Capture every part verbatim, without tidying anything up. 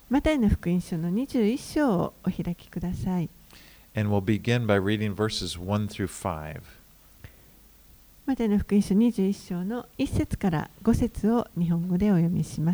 マタイの福音書のにじゅういっ章をお開きください。 And we'll begin by reading verses one through five. マタイの福音書にじゅういっ章のいち節からご節を日本語でお読みします。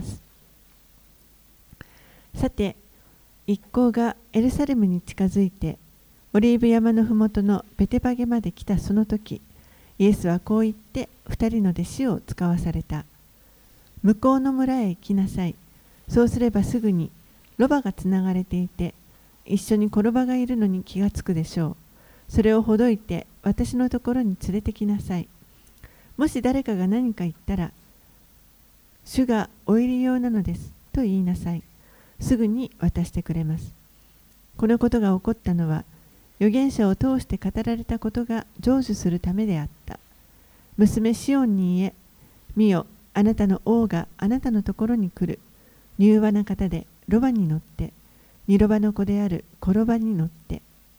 さて、一行がエルサレムに近づいて、オリーブ山のふもとのベテパゲまで来たその時、イエスはこう言って二人の弟子を使わされた。向こうの村へ行きなさい。そうすればすぐにロバがつながれていて、一緒に転ばがいるのに気がつくでしょう。それをほどいて私のところに連れてきなさい。もし誰かが何か言ったら、主がお入り用なのですと言いなさい。すぐに渡してくれます。このことが起こったのは、預言者を通して語られたことが成就するためであった。娘シオンに言え、見よ、あなたの王があなたのところに来る。柔和な方でロバに乗って、ニロバの子であるコロバに乗って。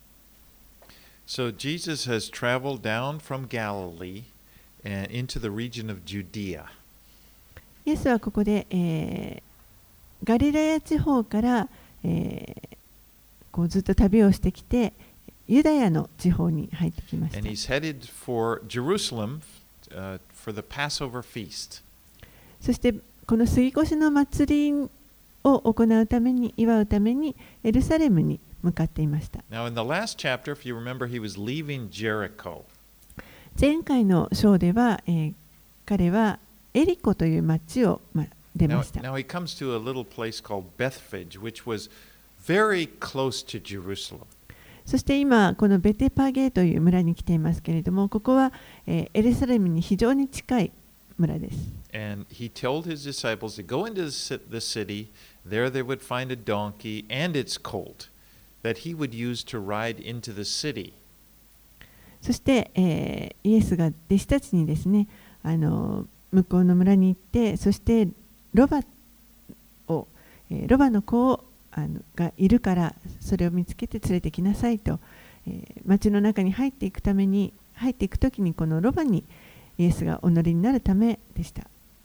So Jesus has traveled down from Galilee and into the region of Judea. イエスはここで、えー、ガリラヤ地方から、えー、こうずっと旅をしてきて、ユダヤの地方に入ってきました。 And he's headed for Jerusalem, uh, for the Passover feast. そしてこの杉越の祭りを行うために、祝うためにエルサレムに向かっていました。 Now in the last chapter, if you remember, he was leaving Jericho. 前回の章では、えー、彼はエリコという町を、ま、出ました。 Now, now he comes to a little place called Bethphage, which was very close to Jerusalem. そして今このベテパゲという村に来ていますけれども、ここは、えー、エルサレムに非常に近い村です。 And he told his disciples to go into the city, there they would find a donkey and its colt that he would use to ride into the city. そして、えー、イエスが弟子たちにですね、あの向こうの村に行って、そしてロバを、えー、ロバの子をあのがいるからそれを見つけて連れてきなさいと、えー、町の中に入っていくために入っていくときにこのロバにイエスがお乗りになるためでした。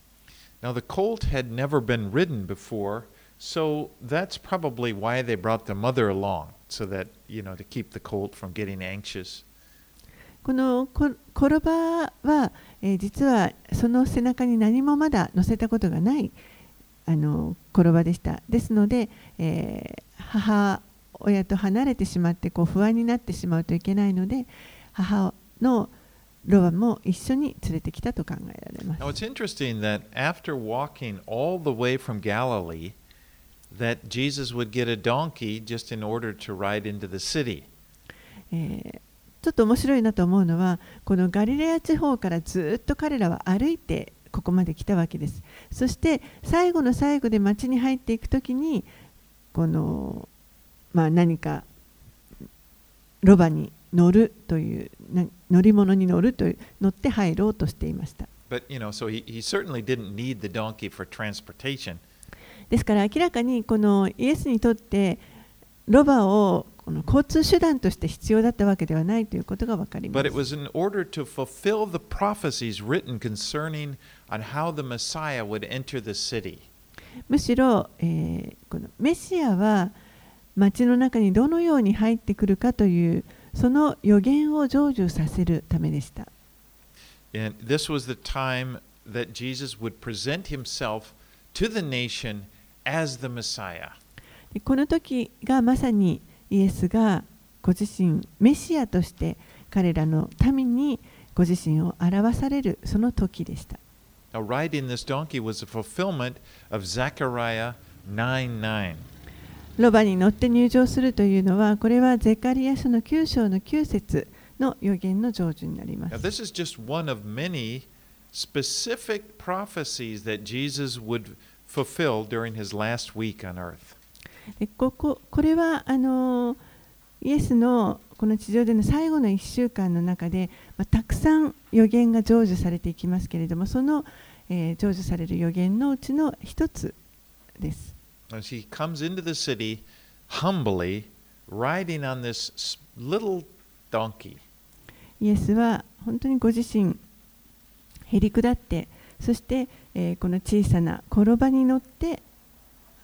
Now the colt had never been ridden before, so that's probably why they brought the mother along, so that, you know, to keep the colt from getting anxious. このコロバは、えー、実はその背中に何もまだ乗せたことがないあのコロバでした。ですので、えー、母親と離れてしまってこう不安になってしまうといけないので、母のロバも一緒に連れてきたと考えられます。 Now it's interesting that after walking all the way from Galilee, that Jesus would get a donkey just in order to ride into the city. えー、ちょっと面白いなと思うのは、このガリレア地方からずっと彼らは歩いてここまで来たわけです。そして最後の最後で町に入っていくときに、この、まあ、何かロバに乗るという乗り物に乗るという乗って入ろうとしていました。 But, you know, so he, he certainly didn't need the donkey for transportation. ですから明らかにこのイエスにとってロバをこの交通手段として必要だったわけではないということが分かります。 But it was in order to fulfill the prophecies written concerning on how the Messiah would enter the city. むしろ、えー、このメシアは町の中にどのように入ってくるかというその予言を成就させるためでした。 And this was the time that Jesus would present himself to the nation as the Messiah. この時がまさにイエスがご自身メシアとして彼らの民にご自身を表されるその時でした。 Now, riding this donkey was a fulfillment of Zechariah nine nine. ロバに乗って入場するというのは、これはゼカリヤ書のきゅう章のきゅう節の予言の成就になります。 Now, this is just one of many specific prophecies that Jesus would fulfill during his last week on earth. でこここれはあのイエスのこの地上での最後のいっしゅうかんの中で、まあ、たくさん予言が成就されていきますけれども、その、えー、成就される予言のうちの一つです。 As he comes into the city humbly, riding on this little donkey. イエスは本当にご自身へり下って、そして、えー、この小さな転ばに乗って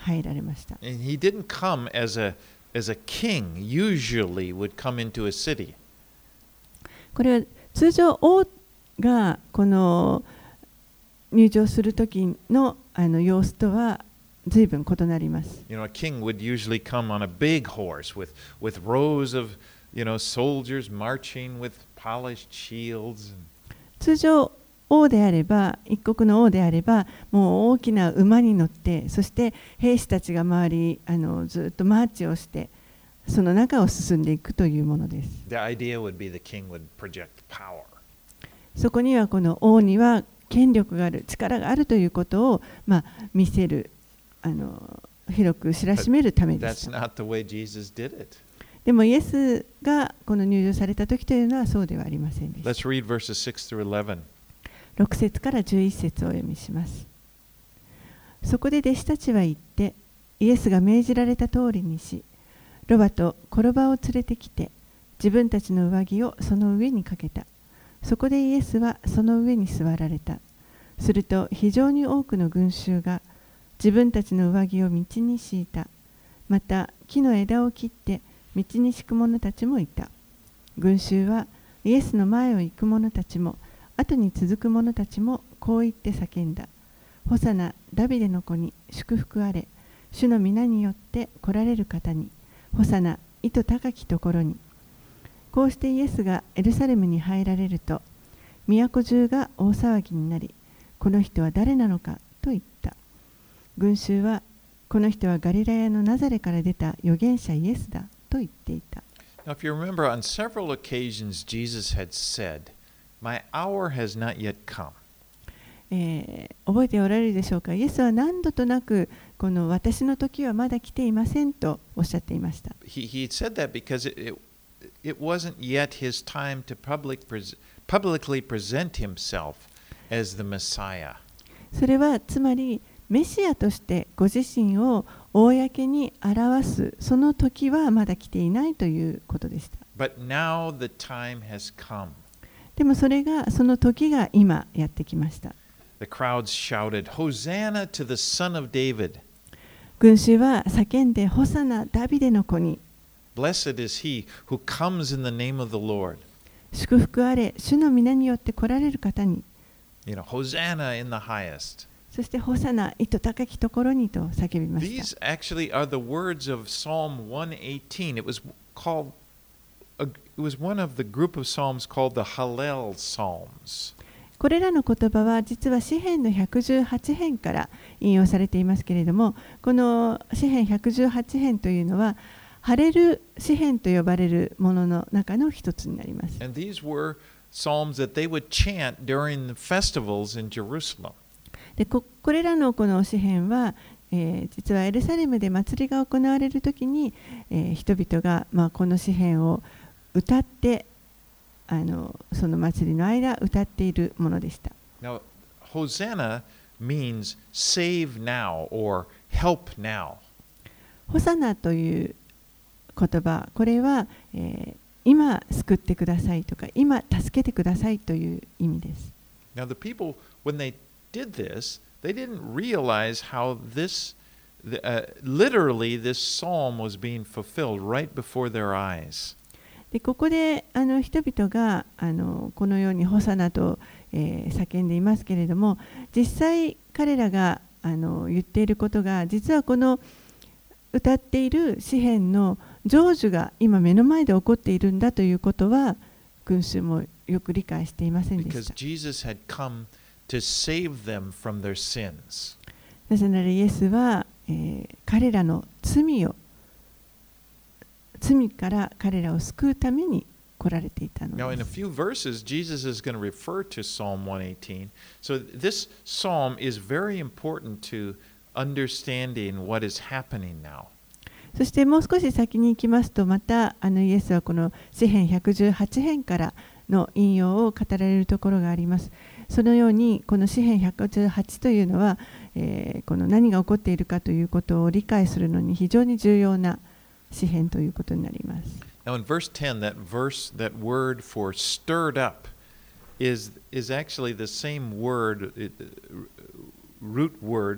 入られました。 And he didn't come as a, as a king usually would come into a city. これは通常王がこの入場する時のあの様子とは随分異なります。 You know, a king would usually come on a big horse with, with rows of, you know, soldiers marching with polished shields. 通常王であれば、一国の王であれば、もう大きな馬に乗って、そして兵士たちが周りあのずっとマーチをして、その中を進んでいくというものです。 The idea would be the king would project power. そこにはこの王には権力がある、力があるということを、まあ、見せる、あの広く知らしめるためでし That's た。 not the way Jesus did it. でもイエスがこの入場された時というのはそうではありませんでした。 Let's read verses six through eleven. ろく節からじゅういち節をお読みします。そこで弟子たちは言って、イエスが命じられた通りにし、ロバとコロバを連れてきて、自分たちの上着をその上にかけた。そこでイエスはその上に座られた。すると非常に多くの群衆が自分たちの上着を道に敷いた。また木の枝を切って道に敷く者たちもいた。群衆はイエスの前を行く者たちも後に続く者たちもこう言って叫んだ。ホサナ、ダビデの子に祝福あれ。主の皆によって来られる方に。ホサナ、意図高きところに。こうしてイエスがエルサレムに入られると、都中が大騒ぎになり、この人は誰なのかと言った。群衆は、この人はガリラヤのナザレから出た預言者イエスだと言っていた。 Now, if you remember, on several occasions Jesus had said, My hour has not yet come. えー覚えておられるでしょうか。イエスは何度となくこの私の時はまだ来ていませんとおっしゃっていました。 He, he said that because it, it, it wasn't yet his time to public pres publicly present himself as the Messiah. それはつまりメシアとしてご自身を公に表すその時はまだ来ていないということでした。 But now the time has come. でもそれがその時が今やってきました。 The crowds shouted, Hosanna to the Son of David. 群衆は叫んでホサナダビデの子に。 Blessed is he who comes in the name of the Lord. 祝福あれ、主の皆によって来られる方に。 You know, Hosanna in the highest. そしてホサナ、意図高きところにと叫びました。 These actually are the words of Psalm one eighteen. It was called, a, it was one of the group of psalms called the Hallel Psalms. これらの言葉は実は詩編のひゃくじゅうはち編から引用されていますけれども、この詩編ひゃくじゅうはち編というのはハレル詩編と呼ばれるものの中の一つになります。 And these were psalms that they would chant during the festivals in Jerusalem. で こ, これらのこの詩編は、えー、実はエルサレムで祭りが行われるときに、えー、人々が、まあ、この詩編を歌ってあのその祭りの間歌っているものでした。 Now, Hosanna means save now or help now. ホサナという言葉、これは、えー、今救ってくださいとか、今助けてくださいという意味です。 Now, the people, when they did this, they didn't realize how this, uh, literally, this psalm was being fulfilled right before their eyes. でここであの人々があのこのようにホサナと、えー、叫んでいますけれども、実際彼らがあの言っていることが実はこの歌っている詩篇の成就が今目の前で起こっているんだということは群衆もよく理解していませんでした。 Because Jesus had come to save them from their sins. なぜならイエスは、えー、彼らの罪を罪から彼らを救うために来られていたの Now, in で a す。 few verses, Jesus is going to refer to Psalm one eighteen. So, this psalm is very important to understanding what is happening now. そしてもう少し先に行きますと、またあのイエスはこの詩編ひゃくじゅうはち編からの引用を語られるところがあります。そのようにこの詩編ひゃくじゅうはちというのは、えー、この何が起こっているかということを理解するのに非常に重要な詩編ということになります。 Now, in verse ten, that verse, that word for stirred up is, is actually the same word, it, root word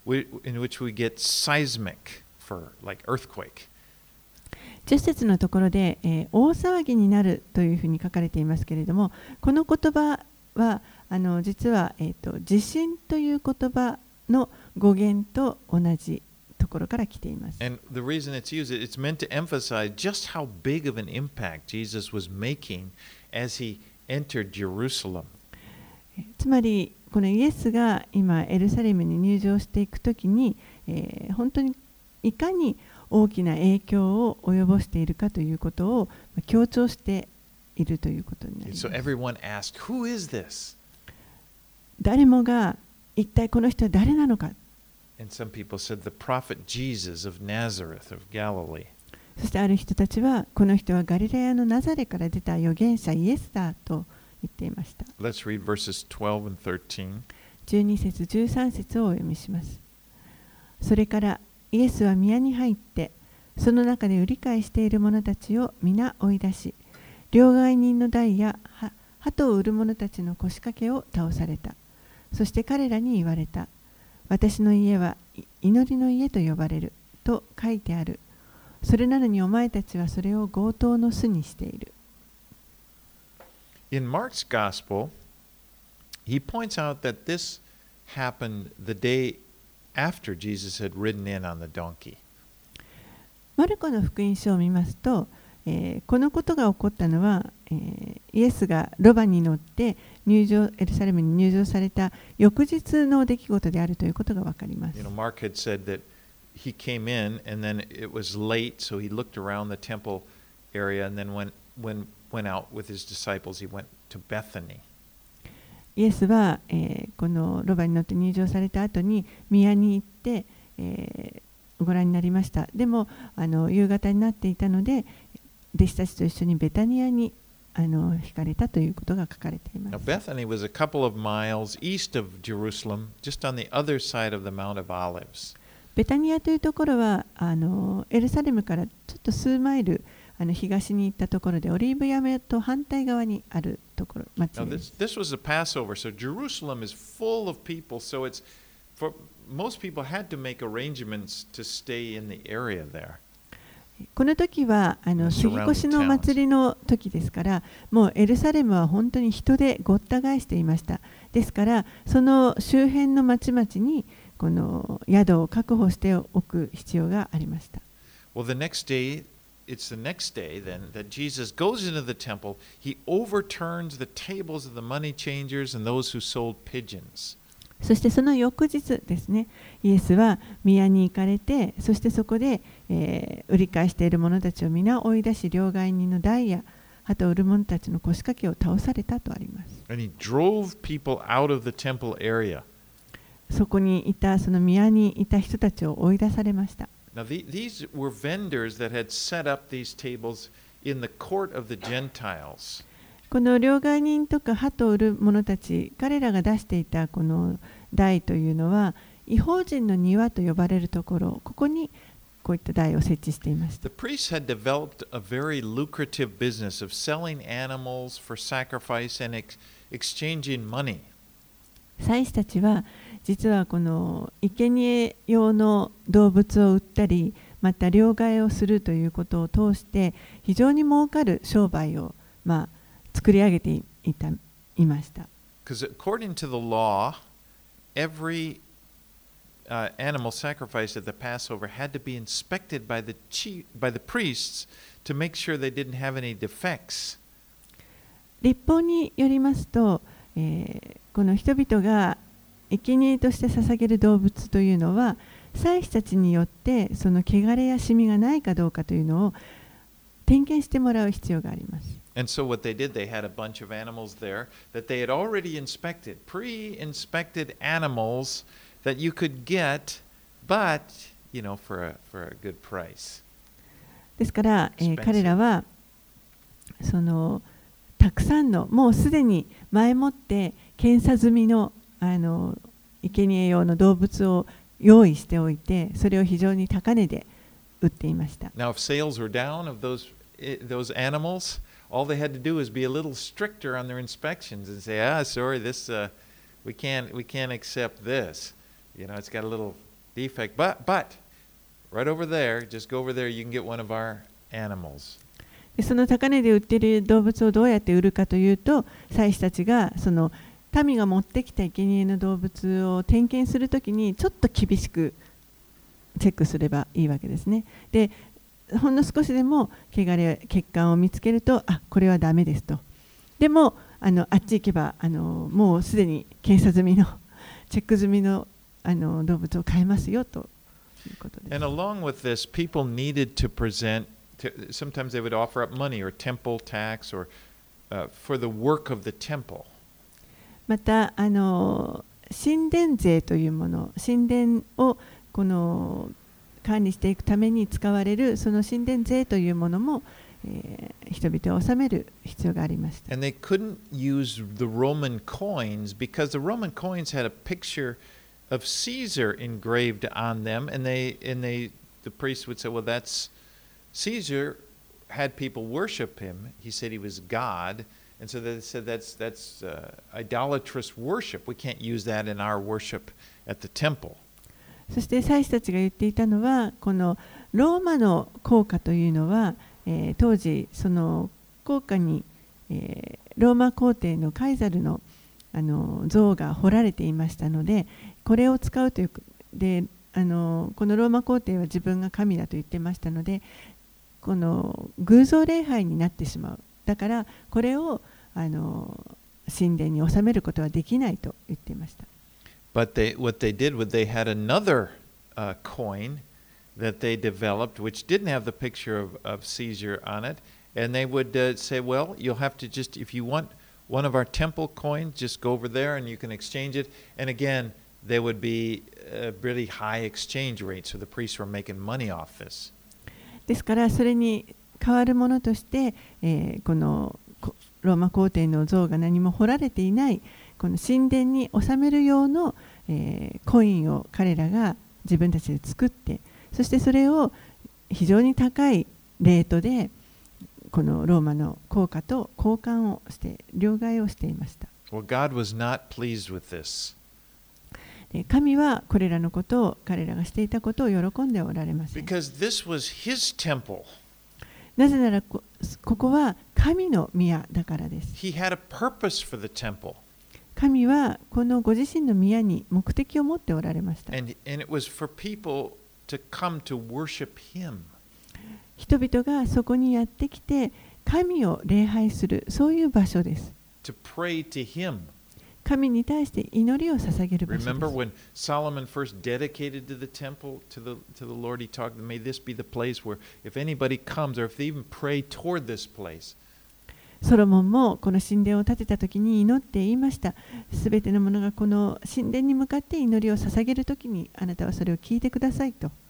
we, in which we get seismic for like earthquake. じゅっ節のところで、えー、大騒ぎになるというふうに書かれていますけれども、この言葉はあの実は、えーと、地震という言葉の語源と同じところから来ています。 And the reason it's used, it's meant to emphasize just how big of an impact Jesus was making as he entered Jerusalem. つまりこのイエスが今エルサレムに入場していくときに、えー、本当にいかに大きな影響を及ぼしているかということを強調しているということになります。 So everyone asked, Who is this? 誰もが一体この人は誰なのか。 And some people said, The prophet Jesus of Nazareth of Galilee. そしてある人たちはこの人はガリラヤのナザレから出た預言者イエスだと言っていました。 Let's read verses twelve and thirteen. じゅうに節じゅうさん節をお読みします。それからイエスは宮に入ってその中で売り買いしている者たちを皆追い出し、両替人の台や鳩を売る者たちの腰掛けを倒された。そして彼らに言われた。私の家は祈りの家と呼ばれると書いてある。それなのにお前たちはそれを強盗の巣にしている。 In Mark's Gospel, he points out that this happened the day after Jesus had ridden in on the donkey. マルコの福音書を見ますと、えー、このことが起こったのは、えー、イエスがロバに乗って入場エルサレムに入場された翌日の出来事であるということがわかります。 You know, Mark had said that he came in and then it was late, so he looked around the temple area and then when, when, went out with his disciples, he went to Bethany. イエスは、えー、このロバに乗って入場された後に宮に行って、えー、ご覧になりました。でもあの夕方になっていたので弟子たちと一緒にベタニアにあの引かれたということが書かれています。 Now, Bethany was a couple of miles east of Jerusalem, just on the other side of the Mount of Olives. ベタニアというところはあのエルサレムからちょっと数マイルあの東に行ったところでオリーブ山と反対側にあるところ町です。 Now, this, this was a Passover, so Jerusalem is full of people, so it's for most people had to make arrangements to stay in the area there. この時はあの杉越の祭りの時ですから、もうエルサレムは本当に人でごった返していました。ですから、その周辺の町々にこの宿を確保しておく必要がありました。 Well, the next day, it's the next day then that Jesus goes into the temple. He overturns the tables of the money changers and those who sold pigeons. そしてその翌日ですね、イエスは宮に行かれて、そしてそこで、えー、売り買いしている者たちを皆追い出し、両替人の台や鳩を売る者たちの腰掛けを倒されたとあります。 And he drove people out of the temple area. そこにいた、その宮にいた人たちを追い出されました。 Now, the, these were vendors that had set up these tables in the court of the Gentiles. この両替人とか鳩を売る者たち、彼らが出していたこの台というのは、異邦人の庭と呼ばれるところ、ここにこういった台を設置していました。 The priests had developed a very lucrative business of selling animals for sacrifice and ex- exchanging money. 祭司たちは実はこの生贄用の動物を売ったり、また両替をするということを通して非常に儲かる商売をまあ作り上げていたいました。 Because according to the law, every uh, animal sacrificed at the Passover had to be inspected by the chief, by the priests to make sure they didn't have any defects. 律法によりますと、えー、この人々が生贄として捧げる動物というのは、祭司たちによってその汚れやシミがないかどうかというのを点検してもらう必要があります。 And so what they did, they had a bunch of animals there that they had already inspected, pre-inspected animals that you could get, but, you know, for a, for a good price. ですから、えー、彼らはそのたくさんのもうすでに前もって検査済みのあの生贄用の動物を用意しておいて、それを非常に高値で売っていました。 Now, if sales were down of those those animals, all they had to do was be a little stricter on their inspections and say, "Ah, sorry, this uh, we can't we can't accept this. You know, it's got a little defect. But, but, right over there, just go over there, you can get one of our animals. でその高値で売っている動物をどうやって売るかというと、祭司たちがその民が持ってきた生贄の動物を点検するときにちょっと厳しくチェックすればいいわけですね。で、ほんの少しでも汚れ、欠陥を見つけると、あ、これはダメですと。でも、あのあっち行けばあのもうすでに検査済みのチェック済みのあの動物を買えますよということです。 And along with this, people needed to present, to, sometimes they would offer up money or temple tax or uh, for the work of the temple. またあの神殿税というもの、神殿をこの管理していくために使われるその神殿税というものも、えー、人々を納める必要がありました。 And they couldn't use the Roman coins because the Roman coins had a picture of Caesar engraved on them, and they and they the priest would say, well, that's Caesar had people worship him. He said he was God, and so they said that's that's uh, idolatrous worship. We can't use that in our worship at the temple. そして祭司たちが言っていたのは、このローマの硬貨というのは、えー、当時その硬貨に、えー、ローマ皇帝のカイザルのあの像が彫られていましたので、これを使うというで、あのこのローマ皇帝は自分が神だと言ってましたので、この偶像礼拝になってしまう。だからこれをあの神殿に収めることはできないと言っていました。 But they, what they did was they had another uh, coin that they developed, which didn't have the picture of, of Caesar on it, and they would uh, say, well, you'll have to just, if you want one of our temple coins, just go over there and you can exchange it. And again, there would be a really high exchange rate, so the priests were making money off this. ですからそれに代わるものとして、えー、このローマ皇帝の像が何も彫られていないこの神殿に収める用の、えー、コインを彼らが自分たちで作って、そしてそれを非常に高いレートでこのローマの硬貨と交換をして両替をしていました。 Well, God was not pleased with this. 神はこれらのことを彼らがしていたことを喜んでおられません。 Because this was his temple. なぜなら こ, ここは神の宮だからです。 He had a purpose for the temple. 神はこのご自身の宮に目的を持っておられました。 And, and it was for people to come to worship him. 人々がそこにやってきて神を礼拝する、そういう場所です。 To pray to him. 神に対して祈りを捧げる場所です。 Remember when Solomon first dedicated to the temple to the to the Lord, he talked, may this be the place where if anybody comes or if they even pray toward this place. ソロモンもこの神殿を建てたときに祈って言いました。すべてのものがこの神殿に向かって祈りを捧げるときにあなたはそれを聞いてくださいと。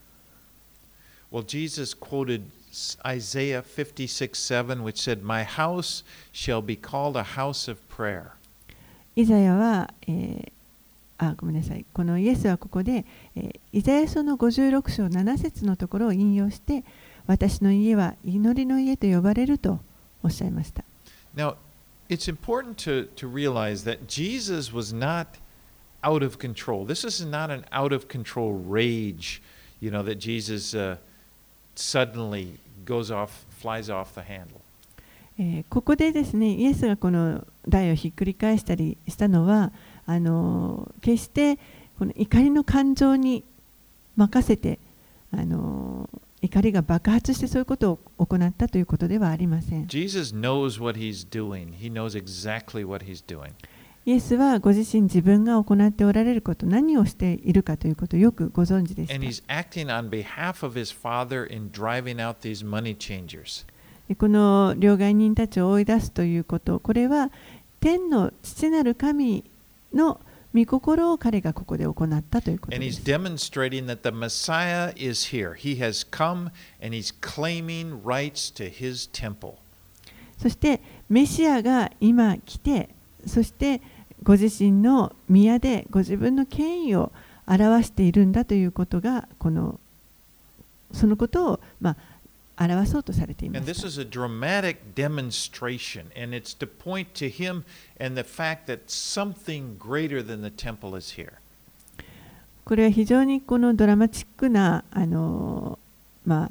Well, Jesus quoted Isaiah fifty-six seven, which said, "My house shall be called a house of prayer." イザヤは、えー、あ、ごめんなさい。このイエスはここで、えー、イザヤ書のごじゅうろく章なな節のところを引用して、私の家は祈りの家と呼ばれるとおっしゃいました。 Now, it's important to, to realize that Jesus was not out of control. This is not an out of control rage, you know, that Jesus uh, suddenly goes off, flies off the handle. えー、ここでですね、イエスがこの台をひっくり返したりしたのは、あのー、決してこの怒りの感情に任せて、あのー、怒りが爆発してそういうことを行ったということではありません。 Jesus knows what he's doing. He knows exactly what he's doing. イエスはご自身自分が行っておられること、何をしているかということをよくご存知でした。 And he's acting on behalf of his Father in driving out these money changers. この両替人たちを追い出すということ、これは天の父なる神の御心を彼がここで行ったということです。 And he's demonstrating that the Messiah is here. He has come and he's claiming rights to his temple. そしてメシアが今来て、そしてご自身の宮でご自分の権威を表しているんだということが、このそのことをまあ表そうとされていま And し this た。 is a dramatic demonstration, and it's to point to him and the fact that something greater than the temple is here. これは非常にこのドラマチックなあの、ま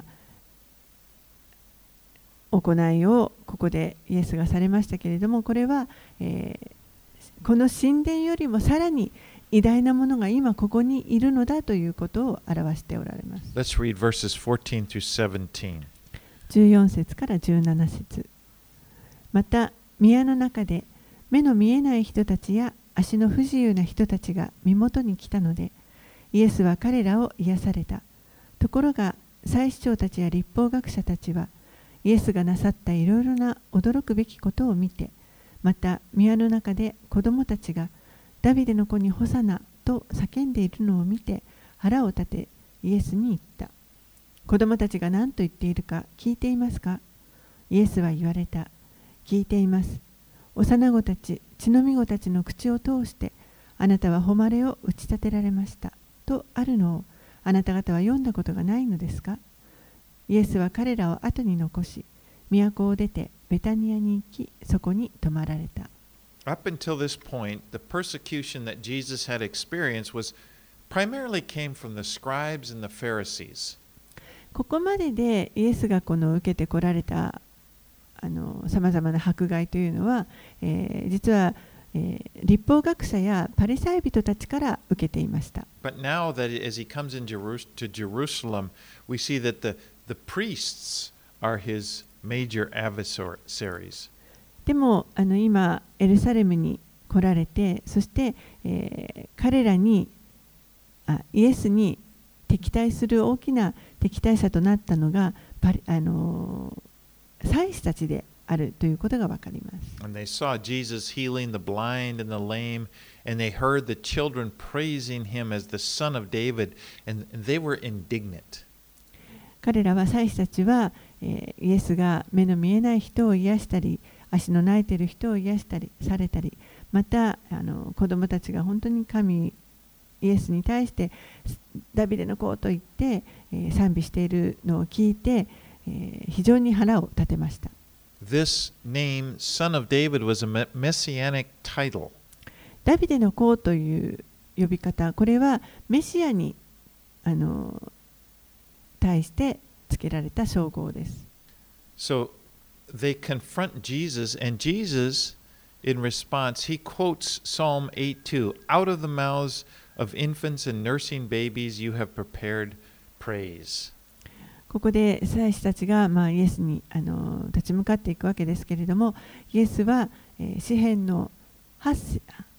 あ、行いをここでイエスがされましたけれども、これは、えー、この神殿よりもさらに偉大なものが今ここにいるのだということを表しておられます。 Let's read verses fourteen through seventeen. じゅうよん節からじゅうなな節。また宮の中で目の見えない人たちや足の不自由な人たちが身元に来たので、イエスは彼らを癒された。ところが祭司長たちや律法学者たちはイエスがなさったいろいろな驚くべきことを見て、また宮の中で子供たちがダビデの子にホサナと叫んでいるのを見て腹を立てイエスに言った。子供たちが何と言っているか聞いていますか？イエスは言われた。聞いています。幼子たち、血のみ子たちの口を通してあなたは誉れを打ち立てられましたとあるのをあなた方は読んだことがないのですか？イエスは彼らを後に残し、都を出てベタニアに行き、そこに泊まられた。 Up until this point, the persecution that Jesus had experienced was primarily came from the scribes and the Pharisees. ここまででイエスがこの受けてこられたさまざまな迫害というのは、えー、実は、えー、律法学者やパリサイ人たちから受けていました。 But now that as he comes in Jerus- to Jerusalem, we see that the, the priests are his major adversaries. でもあの今エルサレムに来られて、そして、えー、彼らにあイエスに敵対する大きな敵対者となったのがパリあのー祭司たちであるということがわかります。 And they saw Jesus healing the blind and the lame, and they heard the children praising him as the son of David, and they were indignant. 彼らは祭司たちは、えー、イエスが目の見えない人を癒したり、足の泣いている人を癒したりされたり、またあの子供たちが本当に神イエスに対してダビデの子と言って、えー、賛美しているのを聞いて、えー、非常に腹を立てました。 This name, Son of David, was a messianic title. ダビデの子という呼び方、これはメシアにあの対して付けられた称号です。 So they confront Jesus, and Jesus, in response, he quotes Psalm eight two, Out of the mouths of infants and nursing babies you have prepared praise. ここで祭司たちが、まあ、イエスにあの立ち向かっていくわけですけれども、イエスは、えー、詩編の 8,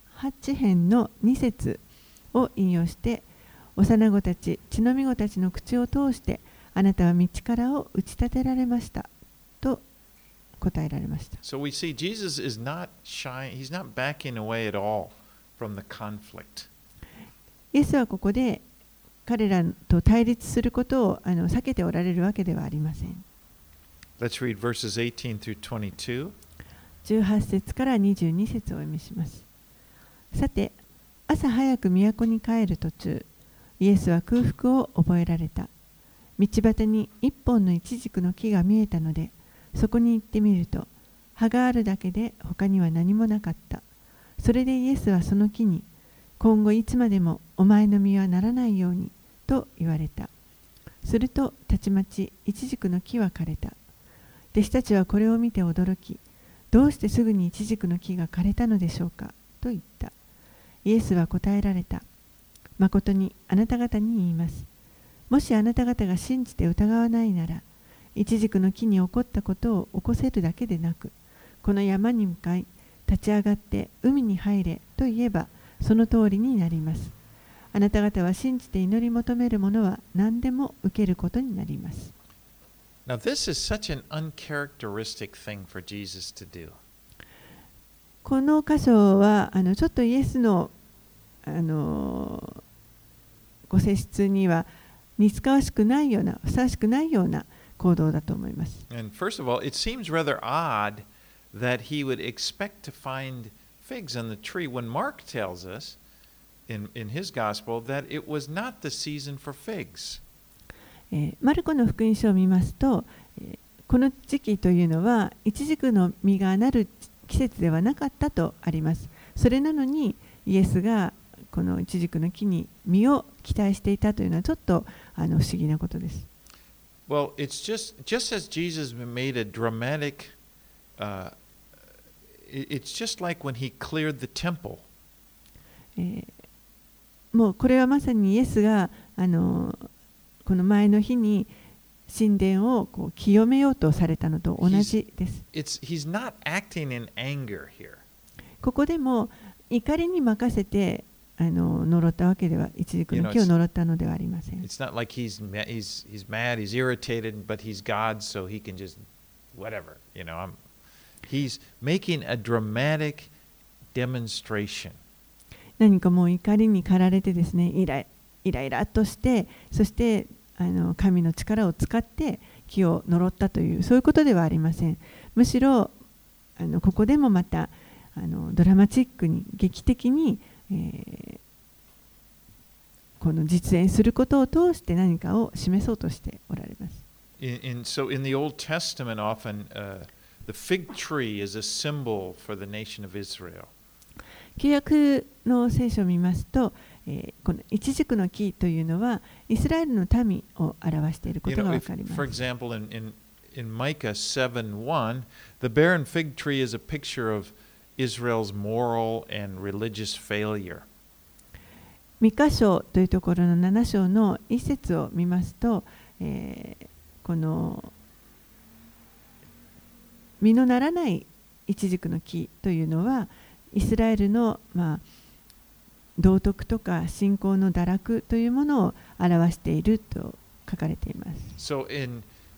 8編のに節を引用して、幼子たち、血のみ子たちの口を通して、あなたは道からを打ち立てられましたと答えられました。 So we see Jesus is not shy, he's not backing away at all from the conflict. イエスはここで彼らと対立することをあの避けておられるわけではありません。 Let's read verses eighteen through twenty-two. じゅうはち節からにじゅうに節をお読みします。さて、朝早く都に帰る途中、イエスは空腹を覚えられた。道端に一本のイチジクの木が見えたので、そこに行ってみると、葉があるだけで他には何もなかった。それでイエスはその木に、今後いつまでもお前の実はならないようにと言われた。するとたちまちイチジクの木は枯れた。弟子たちはこれを見て驚き、どうしてすぐにイチジクの木が枯れたのでしょうかと言った。イエスは答えられた。まことにあなた方に言います。もしあなた方が信じて疑わないなら、イチジクの木に起こったことを起こせるだけでなく、この山に向かい立ち上がって海に入れと言えば、その通りになります。あなた方は信じて祈り求めるものは何でも受けることになります。 Now, this is such an uncharacteristic thing for Jesus to do. この箇所はあのちょっとイエスの、あのご性質には似つかわしくないような、ふさわしくないような行動だと思います。 And first of all, it seems rather odd that he would expect to find figs on the tree when Mark tells us in, in his gospel that it was not the season for figs. えー、マルコの福音書を見ますと、えー、この時期というのはイチジクの実がなる季節ではなかったとあります。それなのにイエスがこのイチジクの木に実を期待していたというのはちょっとあの不思議なことです。 Well, it's just just as Jesus made a dramatic, uh, it's just like when he cleared the temple. えーもうこれはまさにイエスがあのこの前の日に神殿をこう清めようとされたのと同じです。 It's, he's not acting in anger here. ここでも怒りに任せてあの呪ったわけでは、イチジクの木を呪ったのではありません。 It's not like he's he's he's mad, he's irritated, but he's God, so he can just whatever, you know. I'm, he's making a dramatic demonstration. 何かもう怒りに駆られてですね、イライイライラとして、そしてあの神の力を使って木を呪ったという、そういうことではありません。むしろあのここでもまたあのドラマチックに劇的に、えー、この実演することを通して何かを示そうとしておられます。 In, in, so in the Old Testament, often uh, the fig tree is a symbol for the nation of Israel. 旧約の聖書を見ますと、えー、このイチジクの木というのはイスラエルの民を表していることがわかります。 For example, in, in, in Micah seven one, the barren fig tree is a picture of Israel's moral and religious failure. ミカ書というところのなな章の一節を見ますと、えー、この実のならないイチジクの木というのはイスラエルの、まあ、道徳とか信仰の堕落というものを表していると書かれています。 So in,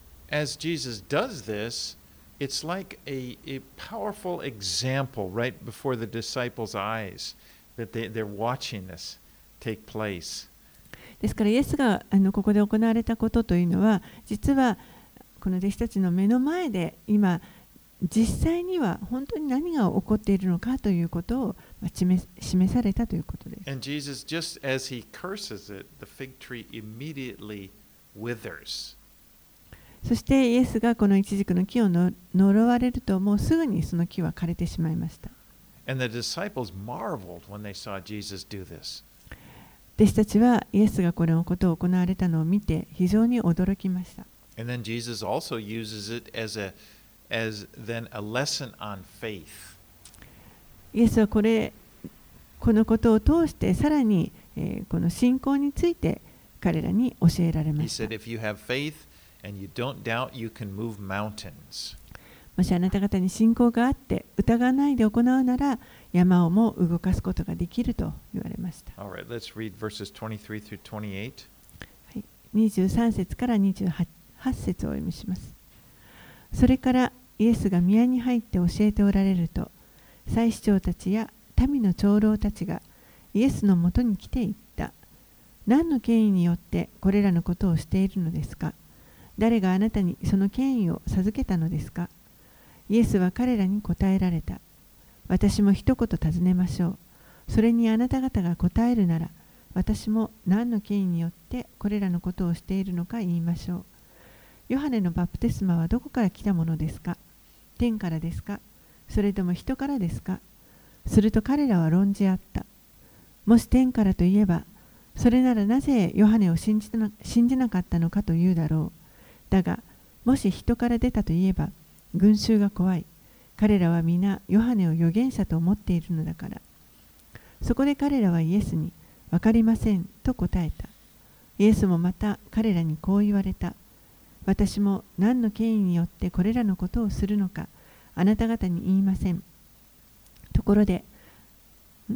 as Jesus does this, it's like a, a powerful example right before the disciples' eyes that they, they're watching this take place. ですからイエスがあのここで行われたことというのは、実はこの弟子たちの目の前で今実際には本当に何が起こっているのかということを示されたということです。 And Jesus, just as he curses it, the fig tree immediately withers. そしてイエスがこのイチジクの木をの呪われると、もうすぐにその木は枯れてしまいました。 And the disciples marveled when they saw Jesus do this. 弟子たちはイエスがこのことを行われたのを見て非常に驚きました。 And then Jesus also uses it as a as then a lesson on faith. イエスはこれこのことを通してさらに、えー、この信仰について彼らに教えられました。 He said, if you have faith and you don't doubt, you can move mountains. もしあなた方に信仰があって疑わないで行うなら山をも動かすことができると言われました。 All right, let's read verses twenty-three through twenty-eight. はい、にじゅうさん節からにじゅうはち節をお読みします。それからイエスが宮に入って教えておられると、祭司長たちや民の長老たちがイエスのもとに来て言った。何の権威によってこれらのことをしているのですか？誰があなたにその権威を授けたのですか？イエスは彼らに答えられた。私も一言尋ねましょう。それにあなた方が答えるなら、私も何の権威によってこれらのことをしているのか言いましょう。ヨハネのバプテスマはどこから来たものですか？天からですか？それとも人からですか？すると彼らは論じ合った。もし天からといえば、それならなぜヨハネを信じな、信じなかったのかというだろう。だが、もし人から出たといえば、群衆が怖い。彼らは皆ヨハネを預言者と思っているのだから。そこで彼らはイエスに、わかりませんと答えた。イエスもまた彼らにこう言われた。私も何の権威によってこれらのことをするのか、あなた方に言いません。ところで、ん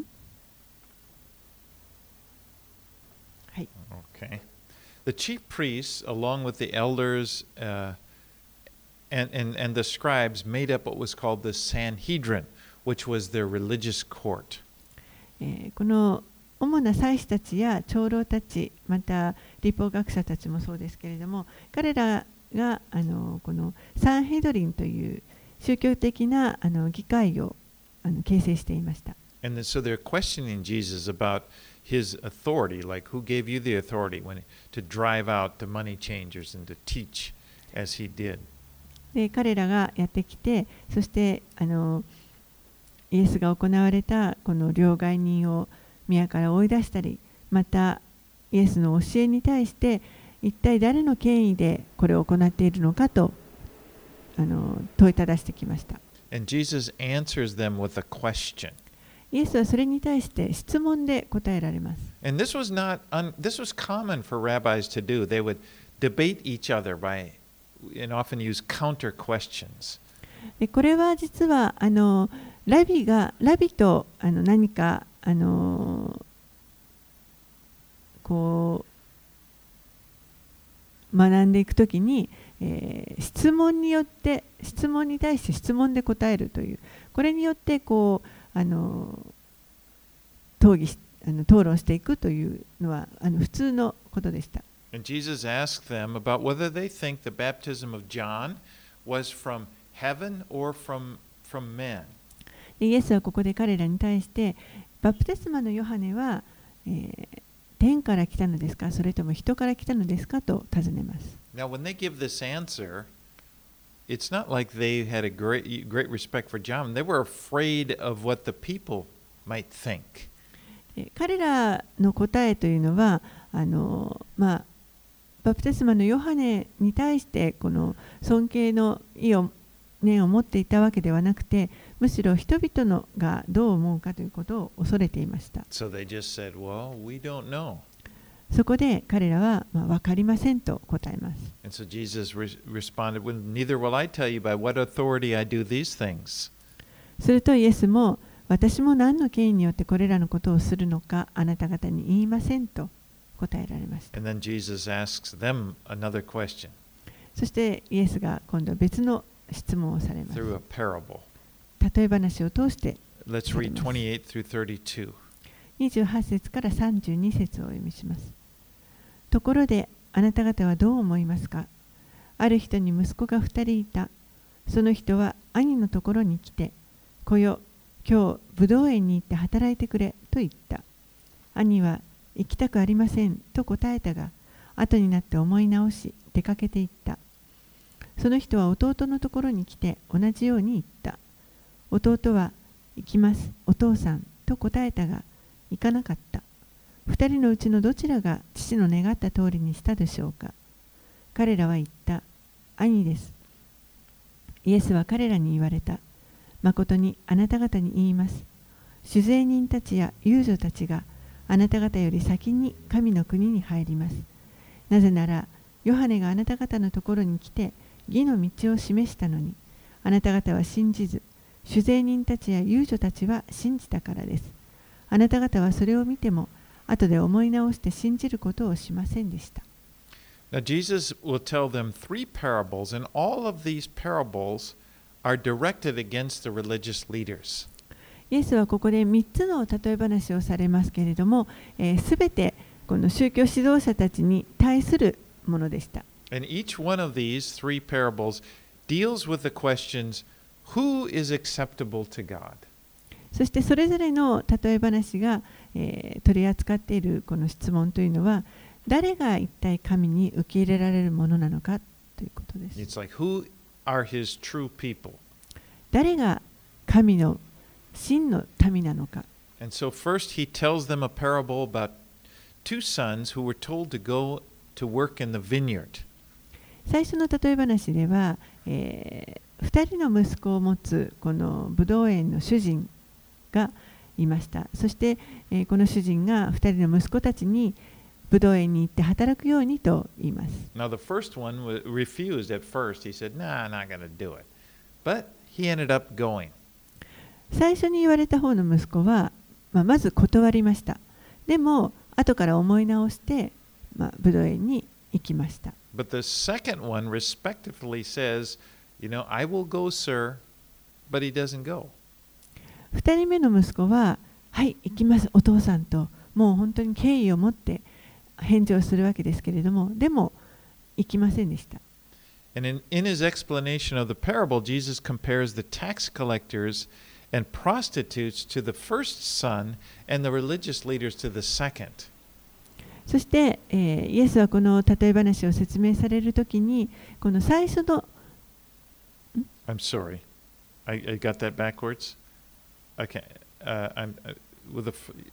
はい。 Okay. The chief priests, along with the elders uh, and, and, and the scribes, made up what was called the Sanhedrin, which was their religious court. えー、この主な祭司たちや長老たち、また立法学者たちもそうですけれども、彼らがあのこのサンヘドリンという宗教的なあの議会をあの形成していました。 And then, so they're questioning Jesus about his authority, like who gave you the authority when, to drive out the money changers and to teach as he did. で彼らがやってきて、そしてあのイエスが行われたこの両替人を宮から追い出したり、またイエスの教えに対して一体誰の権威でこれを行っているのかとあの問いただしてきました。 And Jesus answers them with a question. イエスはそれに対して質問で答えられます。 And this was not un, this was common for rabbis to do. They would debate each other by and often use counter questions. でこれは実はあのラビがラビとあの何かあのこう学んでいくときに、えー、質問によって質問に対して質問で答えるという、これによってこうあの討議しあの討論していくというのはあの普通のことでした。 And Jesus asked them about whether they think the baptism of John was from heaven or from from men. イエスはここで彼らに対してバプテスマのヨハネは、えー、天から来たのですか、それとも人から来たのですかと尋ねます。 Now, when they give this answer, it's not like they had a great great respect for John. They were afraid of what the people might think. 彼らの答えというのはあの、まあ、バプテスマのヨハネに対してこの尊敬の意を念を持っていたわけではなくて、むしろ人々のがどう思うかということを恐れていました。 So they just said, "Well, we don't know." そこで彼らは、まあ、分かりませんと答えます。 And so Jesus re- responded, well, "Neither will I tell you by what authority I do these things." するとイエスも、私も何の権威によってこれらのことをするのかあなた方に言いませんと答えられました。 And then Jesus asks them another question そしてイエスが今度は別の質問をされます。 through a parable. 例え話を通して Let's read twenty-eight through thirty-two. にじゅうはち節からさんじゅうに節をお読みします。ところであなた方はどう思いますか。ある人に息子が二人いた。その人は兄のところに来て、来よ、今日ぶどう園に行って働いてくれと言った。兄は行きたくありませんと答えたが、後になって思い直し出かけて行った。その人は弟のところに来て同じように言った。弟は行きます、お父さんと答えたが、行かなかった。二人のうちのどちらが父の願った通りにしたでしょうか。彼らは言った。兄です。イエスは彼らに言われた。誠にあなた方に言います。酒税人たちや遊女たちがあなた方より先に神の国に入ります。なぜなら、ヨハネがあなた方のところに来て義の道を示したのに、あなた方は信じず、酒税人たちや遊女たちは信じたからです。あなた方はそれを見ても、後で思い直して信じることをしませんでした。 Now, Jesus will tell them three parables, and all of these parables are directed against the religious leaders. イエスはここでみっつの例え話をされますけれども、す、えー、べてこの宗教指導者たちに対するものでした。 And each one of these three parables deals with the questions, who is acceptable to God? そしてそれぞれの例え話が、えー、取り扱っているこの質問というのは、誰が一体神に受け入れられるものなのかということです。 It's like, who are his true people? 誰が神の真の民なのか。 And so first he tells them a parable about two sons who were told to go to work in the vineyard. 最初の例え話では、えー、ふたりの息子を持つこのブドウ園の主人がいました。そして、えー、この主人がふたりの息子たちにブドウ園に行って働くようにと言います。 Now the first one refused at first. He said, "Nah, I'm not going to do it." But he ended up going. 最初に言われた方の息子は、まあ、まず断りました。でも後から思い直して、まあ、ブドウ園に行きました。 But the second one respectively says, "You know, I will go, sir," but he doesn't go. 二人目の息子は、はい、行きます、お父さんと、もう本当に敬意を持って返事をするわけですけれども、でも行きませんでした。 And in, in his explanation of the parable, Jesus compares the tax collectors and prostitutes to the first son and the religious leaders to the second. そして、えー、イエスはこの例え話を説明されるときに、この最初の I'm sorry. I, I got that backwards. Okay. Uh, I'm, uh, with the,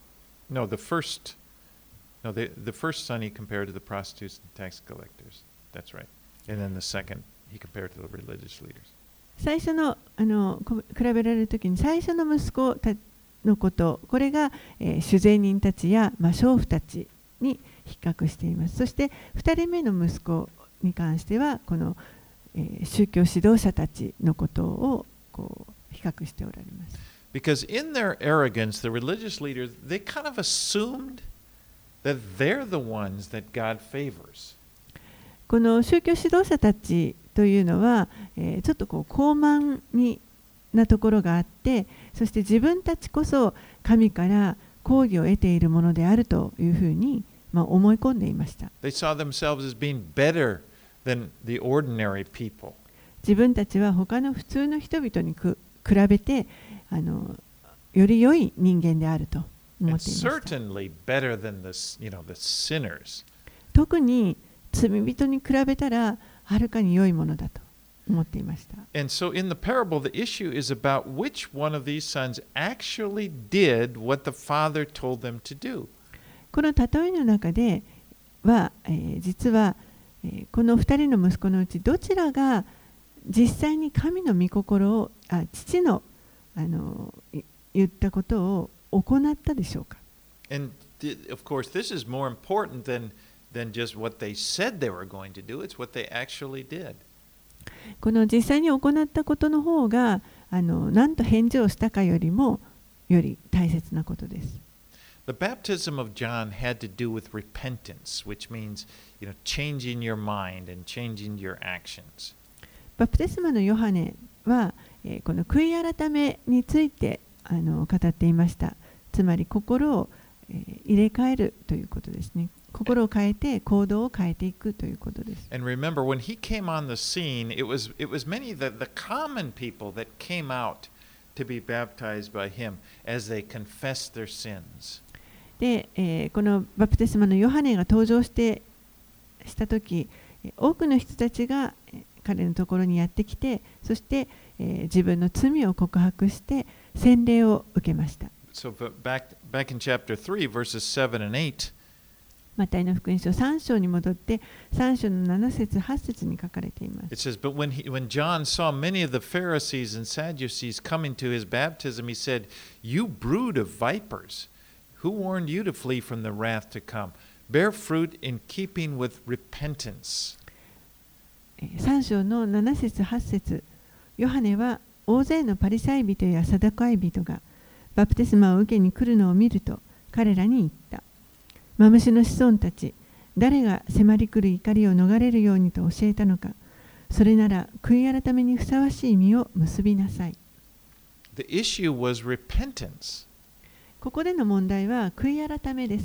No, the first, no, the, the first son he compared to the prostitutes and tax collectors. That's right. And then the second he compared to the religious leaders. 最初の、あのこ比べられるときに最初の息子たのこと、これが、えー、主税人たちや、まあ、娼婦たちに比較しています。そしてふたりめの息子に関してはこの、えー、宗教指導者たちのことをこう比較しておられます。 Because in their arrogance, the religious leaders, they kind of assumed that they're the ones that God favors. この宗教指導者たちというのは、えー、ちょっとこう高慢になところがあって、そして自分たちこそ神から公義を得ているものであるというふうに、まあ、思い込んでいました。 They saw themselves as being better than the ordinary people. 自分たちは他の普通の人々にく比べてあのより良い人間であると思っていました。 Certainly better than the, you know, the sinners. 特に罪人に比べたらはるかに良いものだと思っていました。 And so in the parable, the issue is about which one of these sons actually did what the father told them to do. この例えの中では、えー、実は、えー、このふたりの息子のうちどちらが実際に神の御心をあ父の、あの言ったことを行ったでしょうか。 And of course, this is more important than, than just what they said they were going to do. It's what they actually did. この実際に行ったことの方があの何と返事をしたかよりもより大切なことです。 The baptism of John had to do with repentance, which means, you know, changing your mind and changing your actions. バプテスマのヨハネは、えー、この悔い改めについてあの語っていました。つまり心を、えー、入れ替えるということですね。心を変えて行動を変えていくということです。 And remember, when he came on the scene, it was, it was many of the, the common people that came out to be baptized by him as they confessed their sins. で、えー、このバプテスマのヨハネが登場してしたとき、多くの人たちが彼のところにやってきて、そして、えー、自分の罪を告白して洗礼を受けました。 So back, back in chapter three, verses seven and eight, マタイの福音書さん章に戻ってさん章のなな節はち節に書かれています。 it says, But when, he, when John saw many of the Pharisees and Sadducees coming to his baptism, he said, You brood of vipers, who warned you to flee from the wrath to come? Bear fruit in keeping with repentance. さん章のなな節はち節、ヨハネは大勢のパリサイ人やサダカイ人がバプテスマを受けに来るのを見ると彼らに言った。マムシの子孫たち、誰が迫り来る怒りを逃れるようにと教えたのか。それなら悔い改めにふさわしい実を結びなさい。 The issue was repentance. ここでの問題は悔い改めです。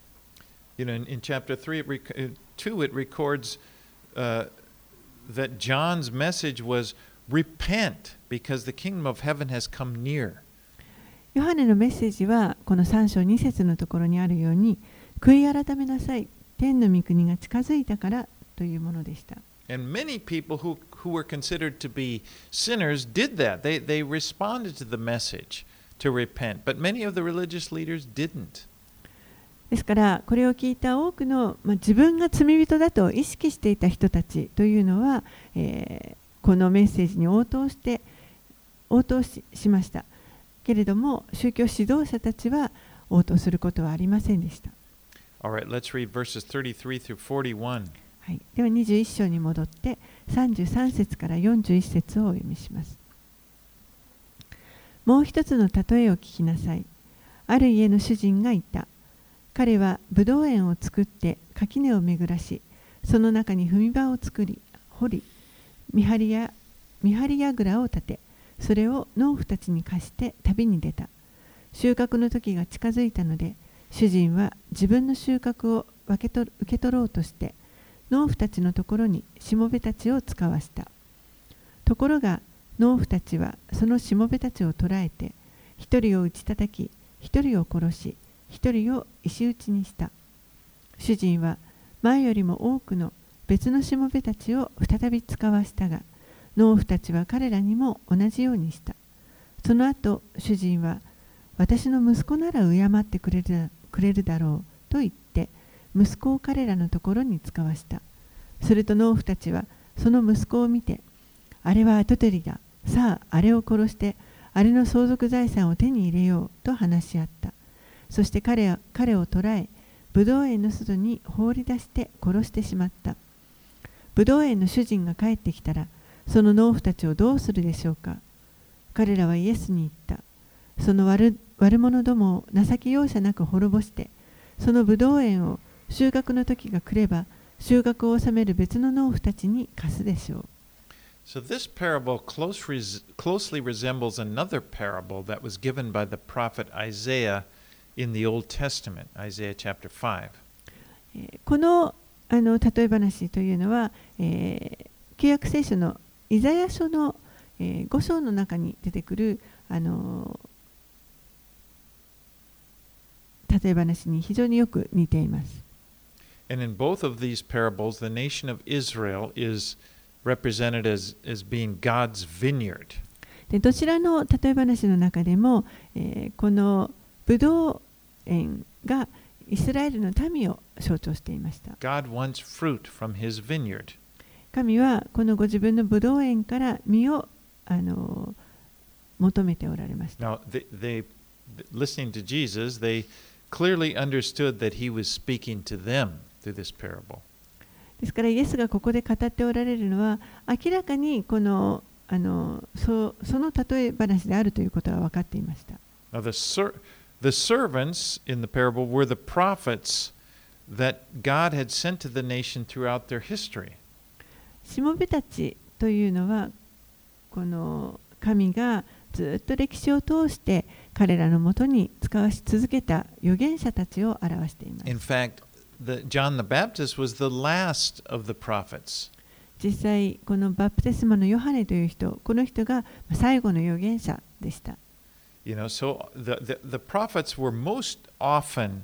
You know, in, in chapter three, it rec- two, it records uh, that John's message was repent because the kingdom of heaven has come near. ヨハネのメッセージはこのさん章に節のところにあるように、悔い改めなさい、天の御国が近づいたからというものでした。 And many people who, who were considered to be sinners did that. They, they responded to the message to repent, but many of the religious leaders didn't. ですからこれを聞いた多くの、まあ、自分が罪人だと意識していた人たちというのは、えー、このメッセージに応答して応答 し, しましたけれども、宗教指導者たちは応答することはありませんでした。 All right, let's read verses thirty-three through forty-one. はい、ではにじゅういち章に戻ってさんじゅうさん節からよんじゅういち節をお読みします。もう一つの例えを聞きなさい。ある家の主人がいた。彼はブドウ園を作って垣根を巡らし、その中に踏み場を作り、掘り、見張りや見張り櫓を立て、それを農夫たちに貸して旅に出た。収穫の時が近づいたので、主人は自分の収穫を分け取受け取ろうとして、農夫たちのところにしもべたちを使わした。ところが農夫たちはそのしもべたちを捕らえて、一人を打ち叩き、一人を殺し、一人を石打ちにした。主人は前よりも多くの別のしもべたちを再び使わしたが、農夫たちは彼らにも同じようにした。その後、主人は私の息子なら敬ってくれる、くれるだろうと言って息子を彼らのところに使わした。すると農夫たちはその息子を見て、あれは跡取りだ、さああれを殺してあれの相続財産を手に入れようと話し合った。そして彼は彼を捕らえ、ブドウ園の外に放り出して殺してしまった。ブドウ園の主人が帰ってきたら、その農夫たちをどうするでしょうか。彼らはイエスに言った。その悪、悪者どもを情け容赦なく滅ぼして、そのブドウ園を収穫の時が来れば、収穫を収める別の農夫たちに貸すでしょう。 So this parable close res- closely resembles another parable that was given by the prophet Isaiah in the Old Testament, Isaiah chapter five. この、あの例え話というのは、えー、旧約聖書のイザヤ書の、えー、ご章の中に出てくる、あの例え話に非常によく似ています。 And in both of these parables, the nation of Israel is represented as, as being God's vineyard. でどちらの例え話の中でも、えー、このブドウ園がイスラエルの民を象徴していました。 God wants fruit from his vineyard. 神はこのご自分のブドウ園から実をあの求めておられました。 Now, they, they, listening to Jesus, they clearly understood that he was speaking to them through this parable. ですからイエスがここで語っておられるのは明らかにこのあの そ, その例え話であるということは分かっていました。 Now, the, ser- the servants in the parable were the prophets that God had sent to the nation throughout their history. しもべたちというのはこの神がずっと歴史を通して彼らのもとに使わし続けた預言者たちを表しています。 In fact, the, John the Baptist was the last of the prophets. 実際このバプテスマのヨハネという人、この人が最後の預言者でした。 You know, so the, the, the prophets were most often,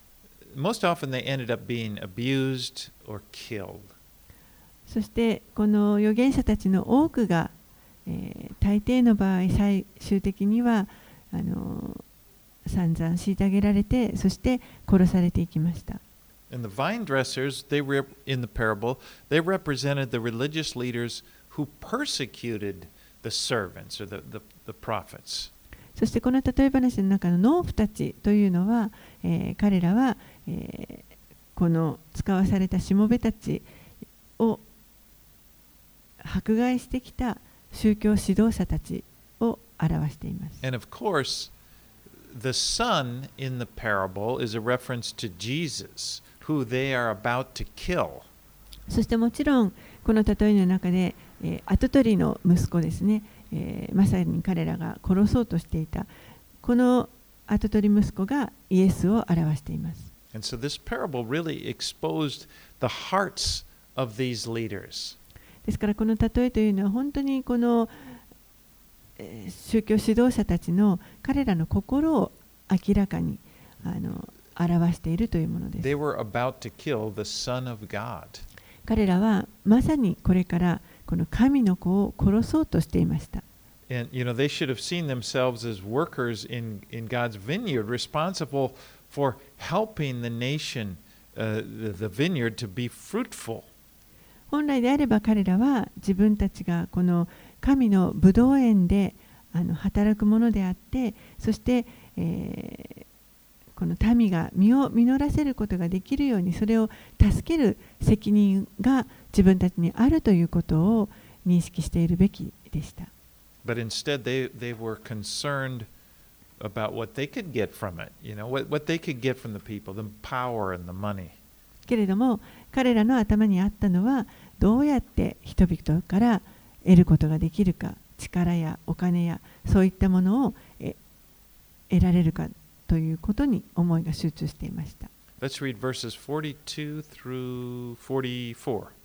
most often they ended up being abused or killed. そしてこの預言者たちの多くが、えー、大抵の場合最終的にはあの散々虐げられて、そして殺されていきました。 And the vine dressers, they were in the parable, they represented the religious leaders who persecuted the servants or the, the, the prophets. そしてこの例え話の中の農夫たちというのは、えー、彼らは、えー、この使わされたしもべたちを迫害してきた宗教指導者たちを表しています。 And of course, the son in the parable is a reference to Jesus, who they are about to kill. そしてもちろんこの例えの中で、えー、跡取りの息子ですね、えー、まさに彼らが殺そうとしていたこの跡取り息子がイエスを表しています。 And so this parable really exposed the hearts of these leaders. ですからこの例えというのは本当にこの、えー、宗教指導者たちの彼らの心を明らかにあの表しているというものです。 They were about to kill the Son of God. 彼らはまさにこれからこの神の子を殺そうとしていました。 And you know, they should have seen themselves as workers in, in God's vineyard, responsible for helping the nation, uh, the, the vineyard, to be fruitful. 本来であれば彼らは自分たちがこの神のブドウ園であの働くものであって、そして、えー、この民が実を実らせることができるようにそれを助ける責任が自分たちにあるということを認識しているべきでした。 But instead, they, they were concerned about what they could get from it, you know, what, what they could get from the people, the power and the money. けれども彼らの頭にあったのはどうやって人々から得ることができるか、力やお金やそういったものをえ得られるかということに思いが集中していました。 Let's read verses forty-two through forty-four. はい、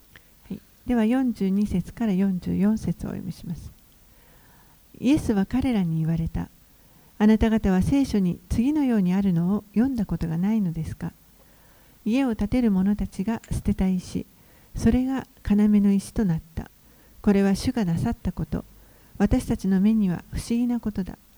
ではよんじゅうに節からよんじゅうよん節をお読みします。イエスは彼らに言われた。あなた方は聖書に次のようにあるのを読んだことがないのですか。家を建てる者たちが捨てた石、それが要の石となった。これは主がなさったこと。私たちの目には不思議なことだ。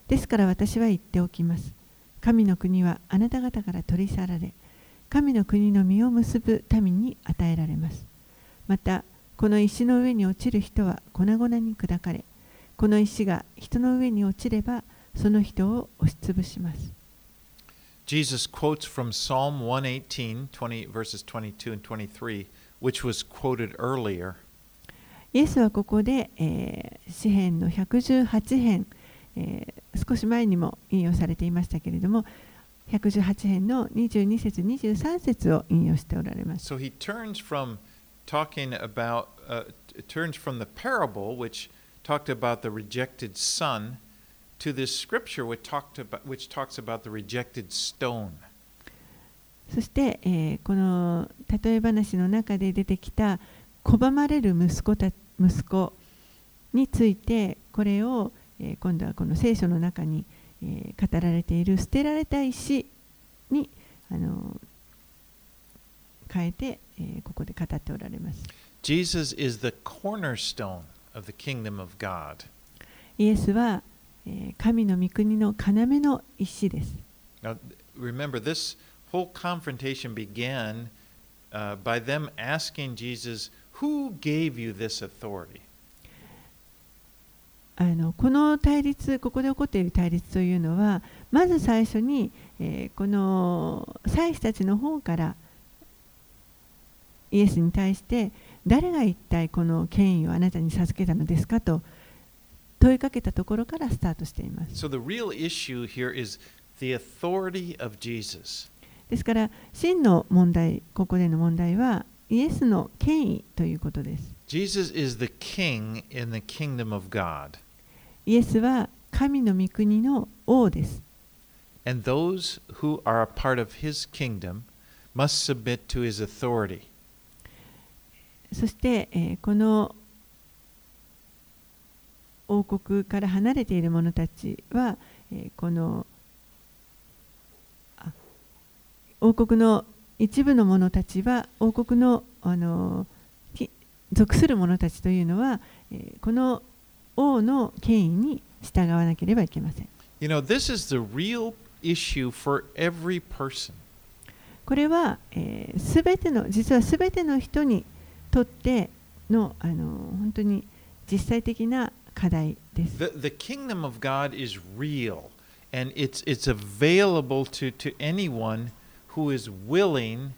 ですから私は言っておきます。神の国はあなた方から取り去られ、神の国の実を結ぶ民に与えられます。また、この石の上に落ちる人は粉々に砕かれ、この石が人の上に落ちれば、その人を押しつぶします。 Jesus quotes from Psalm one eighteen, twenty, verses twenty-two and twenty-three, which was quoted earlier. イエスはここで、えー、詩編のひゃくじゅうはち編、えー、少し前にも引用されていましたけれども、ひゃくじゅうはち編のにじゅうに節、にじゅうさん節を引用しておられます。 So he turns from talking about, uh, turns from the parable, which talked about the rejected son, to this scripture which, talked about, which talks about the rejected stone. そして、えー、この例え話の中で出てきた拒まれる息子た息子について、これを、えー、今度はこの聖書の中に、えー、語られている捨てられた石にあの変えて、えー、ここで語っておられます。 Jesus is the cornerstone of the kingdom of God. イエスは、えー、神の御国の要の石です。 Now, remember, this whole confrontation began uh, by them asking Jesus, "Who gave you this authority?" あのこの対立、ここで起こっている対立というのは、まず最初に、えー、この祭司たちの方からイエスに対して、誰が一体この権威をあなたに授けたのですかと問いかけたところからスタートしています。 So the real issue here is the authority of Jesus. ですから、真の問題、ここでの問題は、イエスの権威ということです。 Jesus is the king in the kingdom of God. イエスは神の御国の王です。 And those who are a part of his kingdom must submit to his authority. そして、えー、この王国から離れている者たちは、えー、この王国の一部の者たちは、王国の、あの属する者たちというのは、えー、この王の権威に従わなければいけません。 You know, this is the real issue for every person. これは、えー、すべての、実はすべての人にとっての、あの本当に実際的な課題です。 The, the kingdom of God is real, and it's, it's available to, to anyone who is willing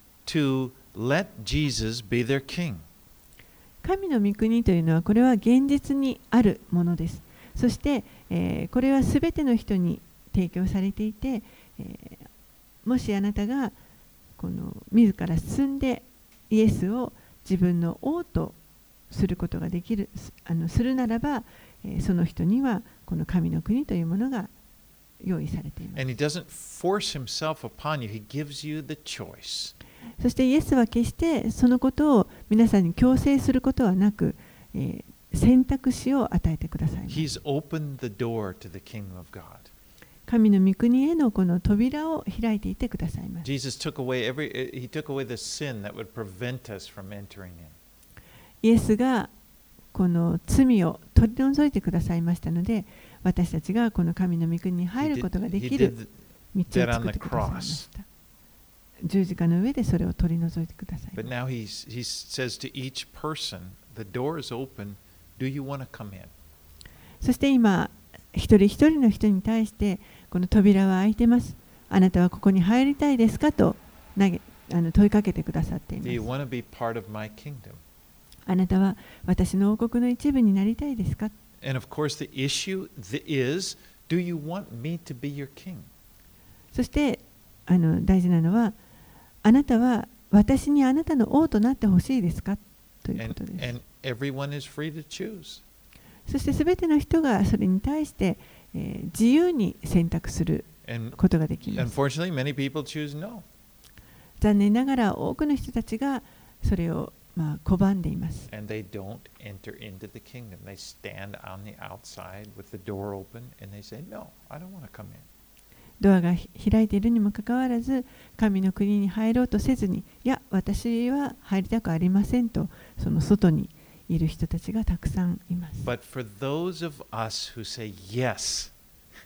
to let Jesus be their king. 神の御国というのは、これは現実にあるものです。そして、えー、これはすべての人に提供されていて、えー、もしあなたがこの自ら進んでイエスを自分の王とすることができる、あのするならば、えー、その人にはこの神の国というものが用意されています。 And he doesn't force himself upon you, he gives you the choice. そしてイエスは決してそのことを皆さんに強制することはなく、えー、選択肢を与えてくださいます。 He's opened the door to the kingdom of God. 神の御国へのこの扉を開いていてくださいます。 Jesus took away every, he took away the sin that would prevent us from entering in. イエスがこの罪を取り除いてくださいましたので、私たちがこの神の御国に入ることができる道を作ってくださいました。十字架の上でそれを取り除いてください。 But now he's, he says to each person, the door is open, do you want to come in? そして今、一人一人の人に対して、この扉は開いてます。あなたはここに入りたいですかと投げあの問いかけてくださっています。 Do you want to be part of my kingdom? あなたは私の王国の一部になりたいですか？ And of course the issue is, do you want me to be your king? そしてあの大事なのは、あなたは私にあなたの王となってほしいですかということです。 And, and everyone is free to choose. そしてすべての人がそれに対して、えー、自由に選択することができます。 Unfortunately, many people choose no. 残念ながら多くの人たちがそれをまあ拒んでいます。 And they don't enter into the kingdom. They stand on the outside with the door open and they say, no, I don't want to come in. ドアが開いているにもかかわらず、神の国に入ろうとせずに、いや、私は入りたくありませんと、その外にいる人たちがたくさんいます。 But for those of us who say yes,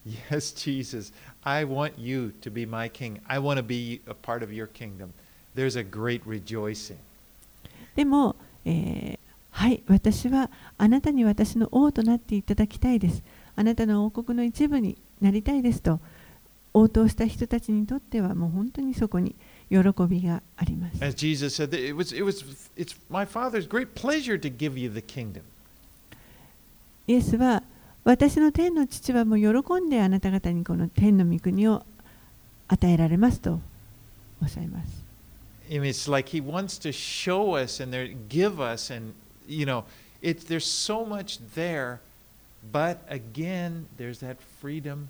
Yes, Jesus, I want you to be my king. I want to be a part of your kingdom. There's a great rejoicing. でも、えーはい、私はあなたに私の王となっていただきたいです。あなたの王国の一部になりたいですと応答した人たちにとってはもう本当にそこに喜びがあります。 As Jesus said, it was, it was, it's my Father's great pleasure to give you the kingdom. イエスは私の天の父はもう喜んであなた方にこの天の御国を与えられますとおっしゃいます。 I mean, it's like he wants to show us and there, give us, and you know, it's there's so much there, but again, there's that freedom.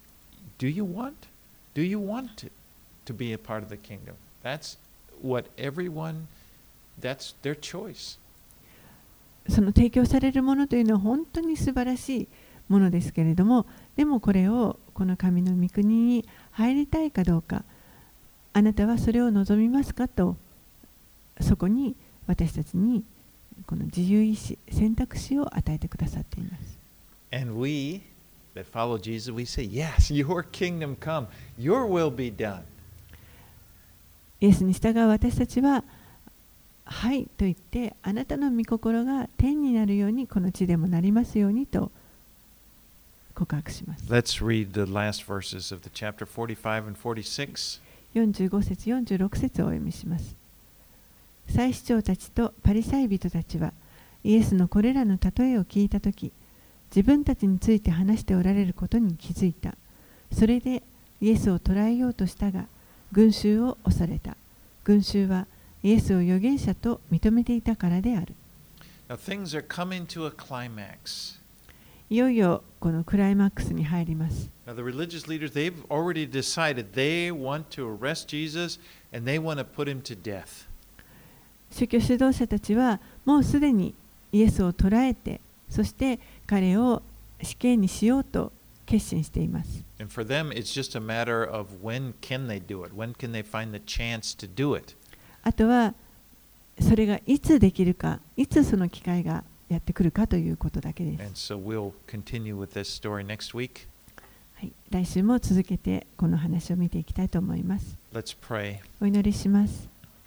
Do you want? Do you want to, to be a part of the kingdom? That's what everyone. That's their choice. その提供されるものというのは本当に素晴らしいものですけれども、でもこれをこの神の御国に入りたいかどうか、あなたはそれを望みますかと、そこに私たちにこの自由意志、選択肢を与えてくださっています。 And we that follow Jesus, we say, yes, your kingdom come, your will be done. イエスに従う私たちは、はいと言って、あなたの御心が天になるように、この地でもなりますようにと告白します。 Let's read the last verses of the chapter forty-five and forty-six. よんじゅうご節、よんじゅうろく節をお読みします。祭司長たちとパリサイ人たちは、イエスのこれらの例えを聞いたとき、自分たちについて話しておられることに気づいた。それでイエスを捕らえようとしたが、群衆を恐れた。群衆はイエスを預言者と認めていたからである。 Now things are coming to a climax. いよいよこのクライマックスに入ります。 Now the religious leaders, they've already decided they want to arrest Jesus and they want to put him to death. 宗教指導者たちはもうすでにイエスを捕らえて、そして彼を死刑にしようと決心しています。 And for them, it's just a matter of when can they do it? When can they find the chance to do it? あとはそれがいつできるか、いつその機会がやってくるかということだけです。 And so we'll continue with this story next week. はい、来週も続けてこの話を見ていきたいと思います。 Let's pray. お祈りします。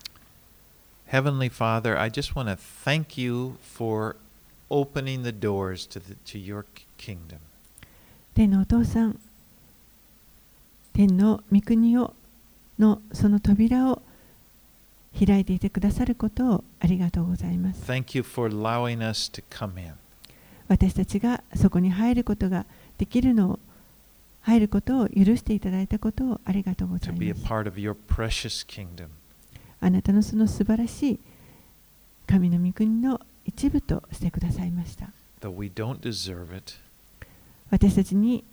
Heavenly Father, I just want to thank you for opening the doors to, the, to your kingdom. 天のお父さん、天の御国をのその扉を開いていてくださることをありがとうございます。 Thank you for allowing us to come in. 私たちがそこに入ることができるのを、入ることを許していただいたことをありがとうござ To い be a ます。 part of your precious kingdom. あなたのその素晴らしい神の御国の一部としてくださいました。 Though we don't deserve it, 私たちに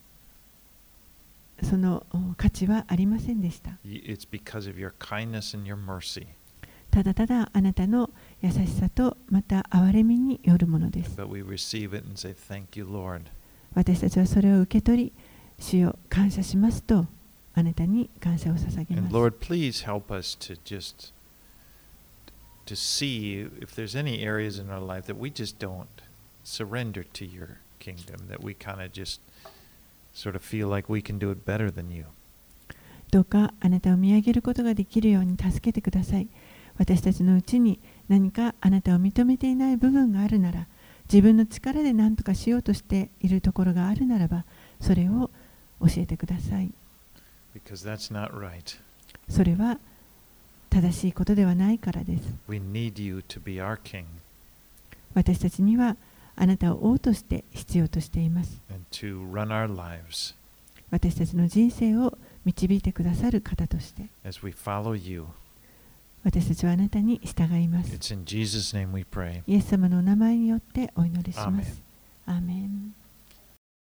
その価値はありませんでした。 it's because of your kindness and your mercy. ただただあなたの優しさとまた憐れみによるものです。 But we receive it and say, Thank you, Lord. 私たちはそれを受け取り、主よ感謝しますとあなたに感謝を捧げま And す。 Lord, please help us to just to see if there's any areas in our life that we just don't surrender to your kingdom, that we kind of just sort of feel like we can do it better than you. どうかあなたを見上げることができるように助けてください。私たちのうちに何かあなたを認めていない部分があるなら、自分の力で何とかしようとしているところがあるならば、それを教えてください。 Because that's not right. それは正しいことではないからです。 We need you to be our king 私たちにはあなたを王として必要としています。 and to run our lives 私たちの人生を導いてくださる方として、 as we follow you. 私たちはあなたに従います。 It's in Jesus' name we pray. イエス様のお名前によってお祈りしま Amen. す。アーメン。